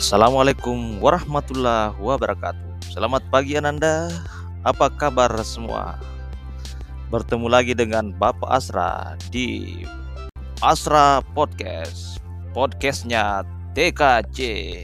Assalamualaikum warahmatullahi wabarakatuh. Selamat pagi Ananda. Apa kabar semua? Bertemu lagi dengan Bapak Asra di Asra Podcast. Podcastnya TKC.